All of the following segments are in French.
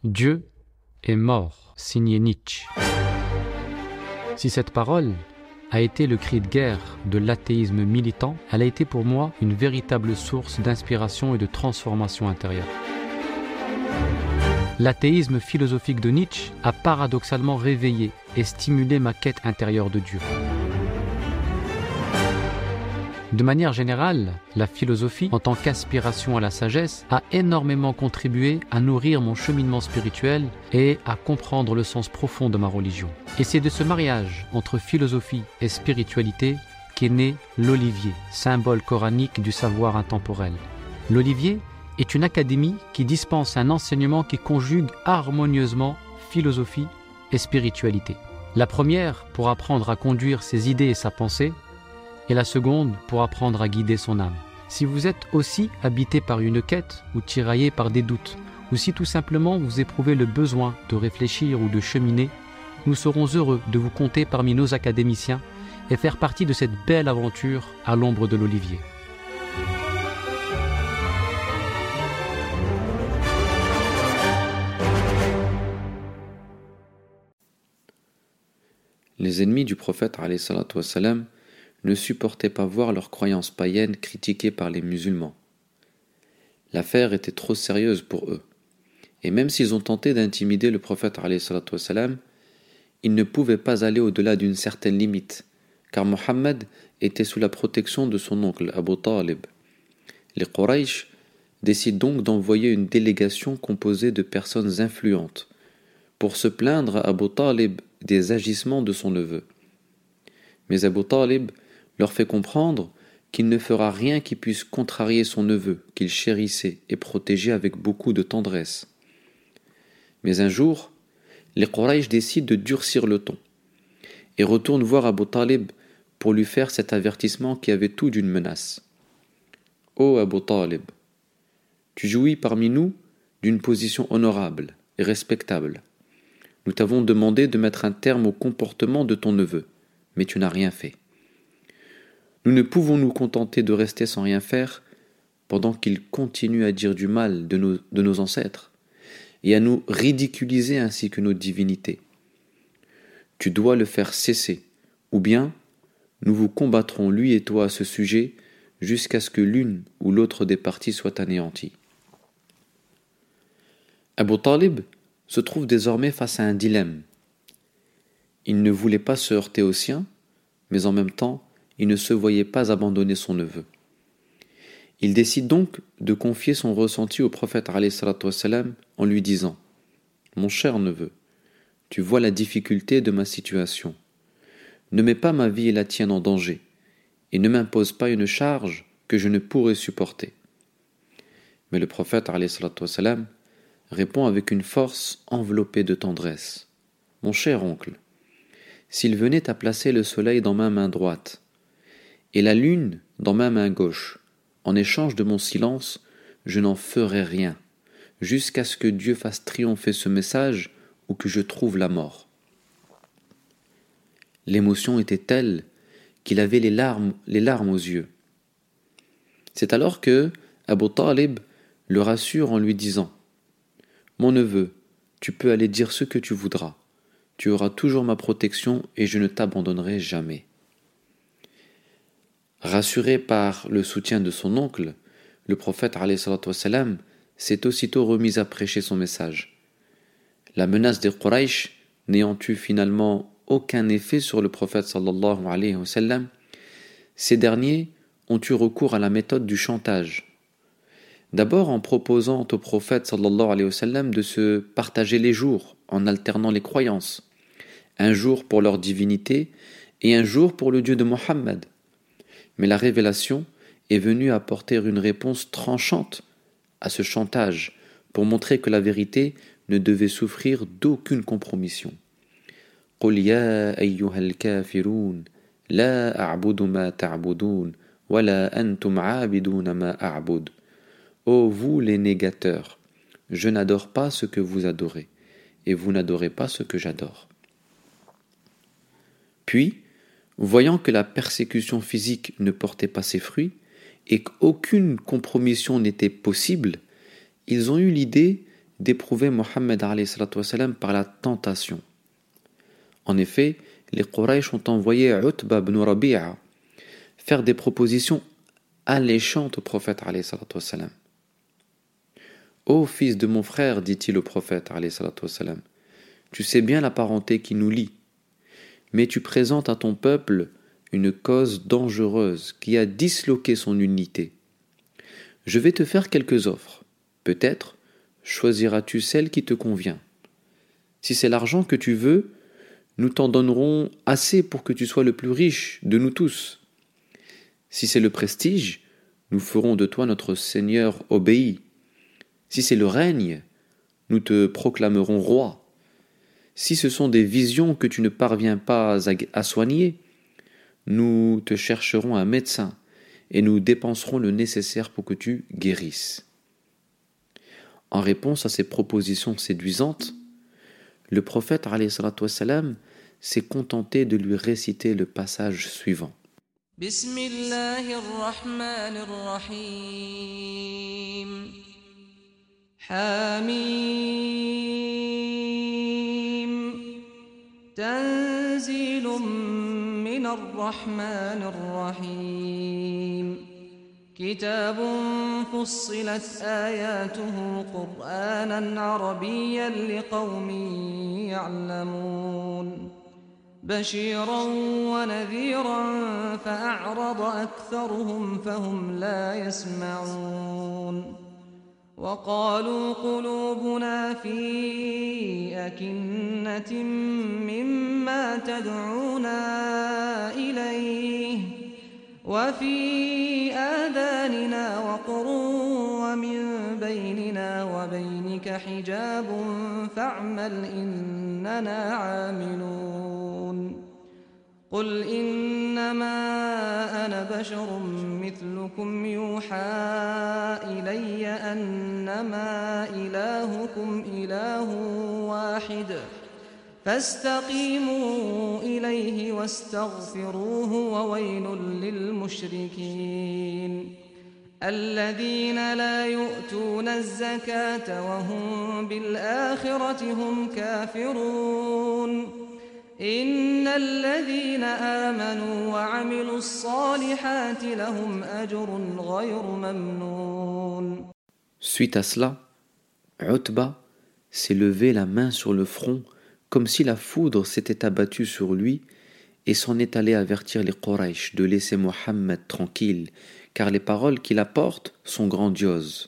Dieu est mort, signé Nietzsche. Si cette parole a été le cri de guerre de l'athéisme militant, elle a été pour moi une véritable source d'inspiration et de transformation intérieure. L'athéisme philosophique de Nietzsche a paradoxalement réveillé et stimulé ma quête intérieure de Dieu. De manière générale, la philosophie, en tant qu'aspiration à la sagesse, a énormément contribué à nourrir mon cheminement spirituel et à comprendre le sens profond de ma religion. Et c'est de ce mariage entre philosophie et spiritualité qu'est né l'Olivier, symbole coranique du savoir intemporel. L'Olivier est une académie qui dispense un enseignement qui conjugue harmonieusement philosophie et spiritualité. La première pour apprendre à conduire ses idées et sa pensée, et la seconde pour apprendre à guider son âme. Si vous êtes aussi habité par une quête ou tiraillé par des doutes, ou si tout simplement vous éprouvez le besoin de réfléchir ou de cheminer, nous serons heureux de vous compter parmi nos académiciens et faire partie de cette belle aventure à l'ombre de l'Olivier. Les ennemis du prophète alayhi salatu wassalam ne supportaient pas voir leurs croyances païennes critiquées par les musulmans. L'affaire était trop sérieuse pour eux. Et même s'ils ont tenté d'intimider le prophète alayhi salatu wassalam, ils ne pouvaient pas aller au-delà d'une certaine limite, car Mohammed était sous la protection de son oncle Abu Talib. Les Quraysh décident donc d'envoyer une délégation composée de personnes influentes pour se plaindre à Abu Talib des agissements de son neveu. Mais Abu Talib leur fait comprendre qu'il ne fera rien qui puisse contrarier son neveu, qu'il chérissait et protégeait avec beaucoup de tendresse. Mais un jour, les Quraysh décident de durcir le ton et retournent voir Abu Talib pour lui faire cet avertissement qui avait tout d'une menace. « Ô Abu Talib, tu jouis parmi nous d'une position honorable et respectable. Nous t'avons demandé de mettre un terme au comportement de ton neveu, mais tu n'as rien fait. Nous ne pouvons nous contenter de rester sans rien faire pendant qu'il continue à dire du mal de nos ancêtres et à nous ridiculiser ainsi que nos divinités. Tu dois le faire cesser, ou bien nous vous combattrons lui et toi à ce sujet jusqu'à ce que l'une ou l'autre des parties soit anéantie. » Abu Talib se trouve désormais face à un dilemme. Il ne voulait pas se heurter aux siens, mais en même temps, il ne se voyait pas abandonner son neveu. Il décide donc de confier son ressenti au prophète alayhi salatu wassalam en lui disant « Mon cher neveu, tu vois la difficulté de ma situation. Ne mets pas ma vie et la tienne en danger, et ne m'impose pas une charge que je ne pourrai supporter. » Mais le prophète alayhi salatu wassalam répond avec une force enveloppée de tendresse. « Mon cher oncle, s'il venait à placer le soleil dans ma main droite, et la lune dans ma main gauche, en échange de mon silence, je n'en ferai rien, jusqu'à ce que Dieu fasse triompher ce message ou que je trouve la mort. » L'émotion était telle qu'il avait les larmes aux yeux. C'est alors que Abu Talib le rassure en lui disant « Mon neveu, tu peux aller dire ce que tu voudras. Tu auras toujours ma protection et je ne t'abandonnerai jamais. » Rassuré par le soutien de son oncle, le prophète alayhi salatu wassalam s'est aussitôt remis à prêcher son message. La menace des Quraysh n'ayant eu finalement aucun effet sur le prophète sallallahu alayhi wa sallam, ces derniers ont eu recours à la méthode du chantage. D'abord en proposant au prophète sallallahu alayhi wa sallam de se partager les jours en alternant les croyances, un jour pour leur divinité et un jour pour le Dieu de Mohammed. Mais la révélation est venue apporter une réponse tranchante à ce chantage pour montrer que la vérité ne devait souffrir d'aucune compromission. « Qul ya ayyuhal kafirun, la a'budu ma ta'budun, wa la antum 'abiduna ma a'bud. » Ô vous les négateurs, je n'adore pas ce que vous adorez, et vous n'adorez pas ce que j'adore. Puis, voyant que la persécution physique ne portait pas ses fruits et qu'aucune compromission n'était possible, ils ont eu l'idée d'éprouver Mohammed alayhi salatu wassalam par la tentation. En effet, les Quraysh ont envoyé Utba ibn Rabi'a faire des propositions alléchantes au prophète alayhi salatu wassalam. Ô fils de mon frère, dit-il au prophète alayhi salatu wassalam, tu sais bien la parenté qui nous lie, mais tu présentes à ton peuple une cause dangereuse qui a disloqué son unité. Je vais te faire quelques offres. Peut-être choisiras-tu celle qui te convient. Si c'est l'argent que tu veux, nous t'en donnerons assez pour que tu sois le plus riche de nous tous. Si c'est le prestige, nous ferons de toi notre Seigneur obéi. Si c'est le règne, nous te proclamerons roi. Si ce sont des visions que tu ne parviens pas à soigner, nous te chercherons un médecin et nous dépenserons le nécessaire pour que tu guérisses. En réponse à ces propositions séduisantes, le prophète alayhi salatu wassalam s'est contenté de lui réciter le passage suivant. Bismillahirrahmanirrahim. Hamim. Tanzilum minar rahmanir rahim. كتاب فصلت آياته قرآنا عربيا لقوم يعلمون بشيرا ونذيرا فأعرض أكثرهم فهم لا يسمعون وقالوا قلوبنا في أكنة مما تدعونا إليه وفي آذاننا وقر ومن بيننا وبينك حجاب فاعمل إننا عاملون قل إنما أنا بشر مثلكم يوحى إلي أنما إلهكم إله واحد فاستقيموا إليه واستغفروه وويل للمشركين الذين لا يؤتون الزكاة وهم بالآخرة هم كافرون إن الذين آمنوا وعملوا الصالحات لهم أجر غير ممنون. Suite à cela, Utba s'est levé la main sur le front comme si la foudre s'était abattue sur lui et s'en est allé avertir les Quraysh de laisser Mohammed tranquille, car les paroles qu'il apporte sont grandioses.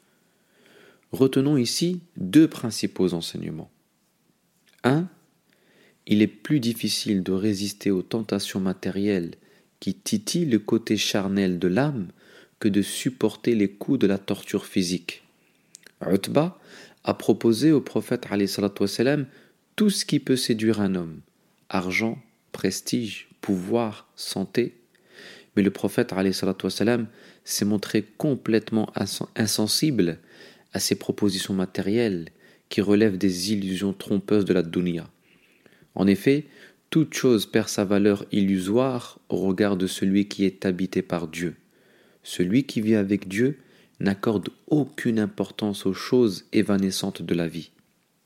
Retenons ici deux principaux enseignements. 1. Il est plus difficile de résister aux tentations matérielles qui titillent le côté charnel de l'âme que de supporter les coups de la torture physique. Utba a proposé au prophète alayhi salatu wassalam tout ce qui peut séduire un homme, argent, prestige, pouvoir, santé. Mais le prophète alayhi salatu wassalam s'est montré complètement insensible à ces propositions matérielles qui relèvent des illusions trompeuses de la dunya. En effet, toute chose perd sa valeur illusoire au regard de celui qui est habité par Dieu. Celui qui vit avec Dieu n'accorde aucune importance aux choses évanescentes de la vie.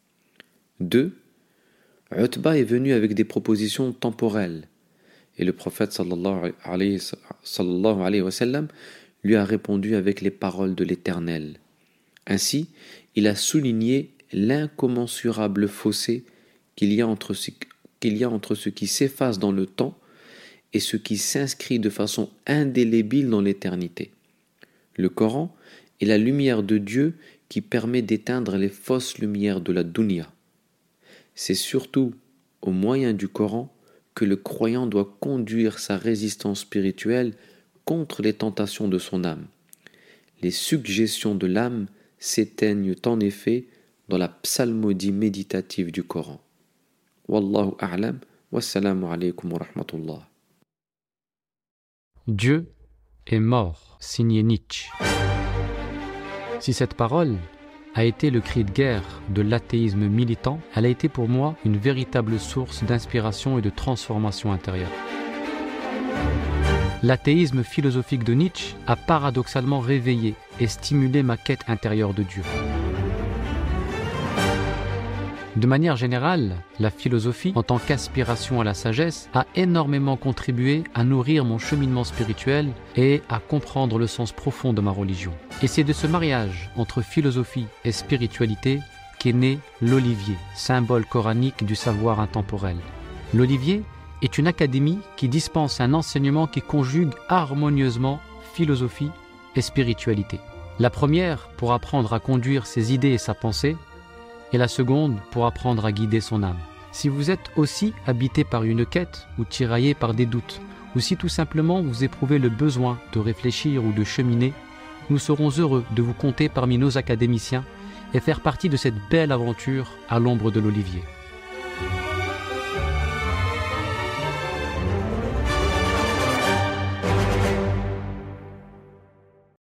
2. Utba est venu avec des propositions temporelles et le prophète sallallahu alayhi wa sallam lui a répondu avec les paroles de l'Éternel. Ainsi, il a souligné l'incommensurable fossé qu'il y a entre ce qui s'efface dans le temps et ce qui s'inscrit de façon indélébile dans l'éternité. Le Coran est la lumière de Dieu qui permet d'éteindre les fausses lumières de la dunya. C'est surtout au moyen du Coran que le croyant doit conduire sa résistance spirituelle contre les tentations de son âme. Les suggestions de l'âme s'éteignent en effet dans la psalmodie méditative du Coran. Wallahu a'lam, wassalamu alaykum wa rahmatullah. Dieu est mort, signé Nietzsche. Si cette parole a été le cri de guerre de l'athéisme militant, elle a été pour moi une véritable source d'inspiration et de transformation intérieure. L'athéisme philosophique de Nietzsche a paradoxalement réveillé et stimulé ma quête intérieure de Dieu. De manière générale, la philosophie, en tant qu'aspiration à la sagesse, a énormément contribué à nourrir mon cheminement spirituel et à comprendre le sens profond de ma religion. Et c'est de ce mariage entre philosophie et spiritualité qu'est né l'olivier, symbole coranique du savoir intemporel. L'olivier est une académie qui dispense un enseignement qui conjugue harmonieusement philosophie et spiritualité. La première pour apprendre à conduire ses idées et sa pensée, et la seconde pour apprendre à guider son âme. Si vous êtes aussi habité par une quête ou tiraillé par des doutes, ou si tout simplement vous éprouvez le besoin de réfléchir ou de cheminer, nous serons heureux de vous compter parmi nos académiciens et faire partie de cette belle aventure à l'ombre de l'olivier.